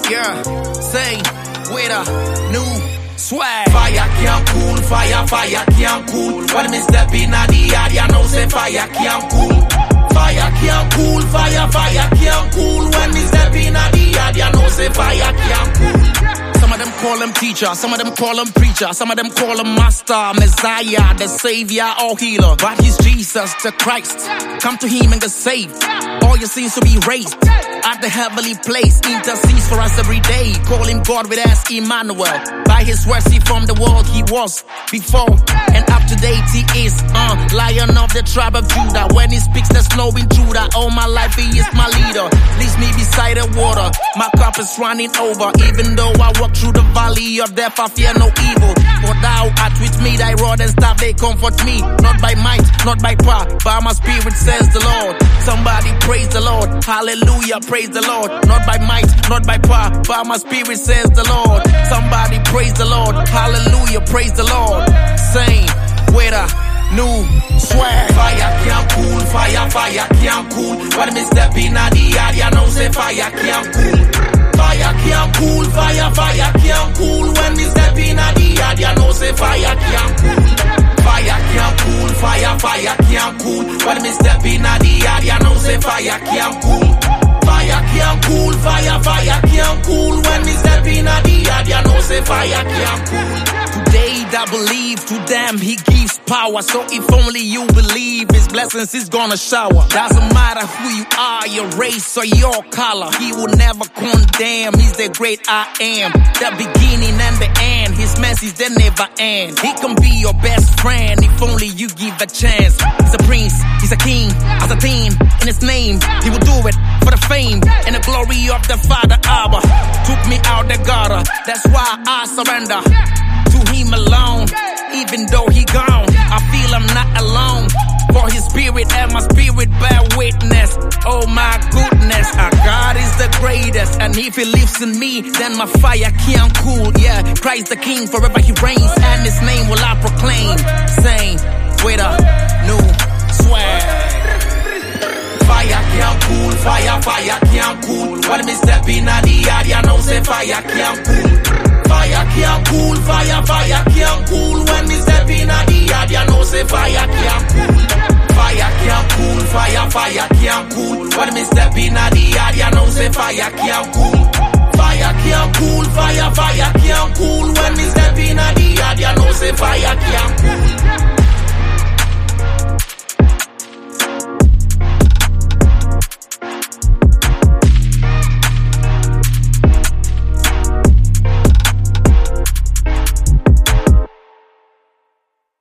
Yeah, say with a new swag. Fire can't cool, fire can't cool. When me step in the yard, you know say fire can't cool. Fire can't cool, fire can't cool. When me step in the yard, you know say fire can't cool. Some of them call him teacher, some of them call him preacher, some of them call him master, messiah, the savior or healer. But he's Jesus, the Christ. Come to him and get saved. All your sins to be raised. At the heavenly place, intercedes for us every day. Call him God with us, Emmanuel. By his words he formed the world he was before. And up to date he is, Lion of the tribe of Judah. When he speaks there's no intruder. All my life he is my leader. Leads me beside the water. My cup is running over. Even though I walk through the valley of death, I fear no evil. For thou art with me, thy rod and staff, they comfort me. Not by might, not by power, by my spirit, says the Lord. Somebody praise the Lord, hallelujah, praise the Lord. Not by might, not by power, by my spirit, says the Lord. Somebody praise the Lord, hallelujah, praise the Lord. Same with a new swag. Fire can't cool, fire can't cool. When me step in the yard, you know say fire can't cool. Fire can't cool, fire can't cool. When me step in the yard, you know say fire can't cool. Fire can't cool, fire can't cool. When me step in the yard, you know say fire can't cool. Fire can't cool, fire can't cool. When me step in the yard, you know say fire can't cool. Today that believe, to them he gives power. So if only you believe, his blessings is gonna shower. Doesn't matter who you are, your race or your color, he will never condemn. He's the great I am, the beginning and the end. His message they never end. He can be your best friend if only you give a chance. He's a prince, he's a king, as a teen in his name. He will do it for the fame and the glory of the Father Abba. Took me out the gutter, that's why I surrender to him alone. Even though he gone, I feel I'm not alone. For his spirit and my spirit bear witness. Oh my goodness, our God is the greatest. And if he lives in me, then my fire can't cool. Yeah, Christ the King, forever he reigns, and his name will I proclaim. Same with a new swag. Fire can't cool, fire can't cool. When me step in the yard, you know say fire can't cool. Fire can't cool, fire can't cool. When me step in the yard, you know say fire can't cool. Fire can't cool, fire can't cool. When me step in the yard, you know say fire can't cool. Fire can't cool, fire can't cool. When me step in the yard, you know say fire can't cool.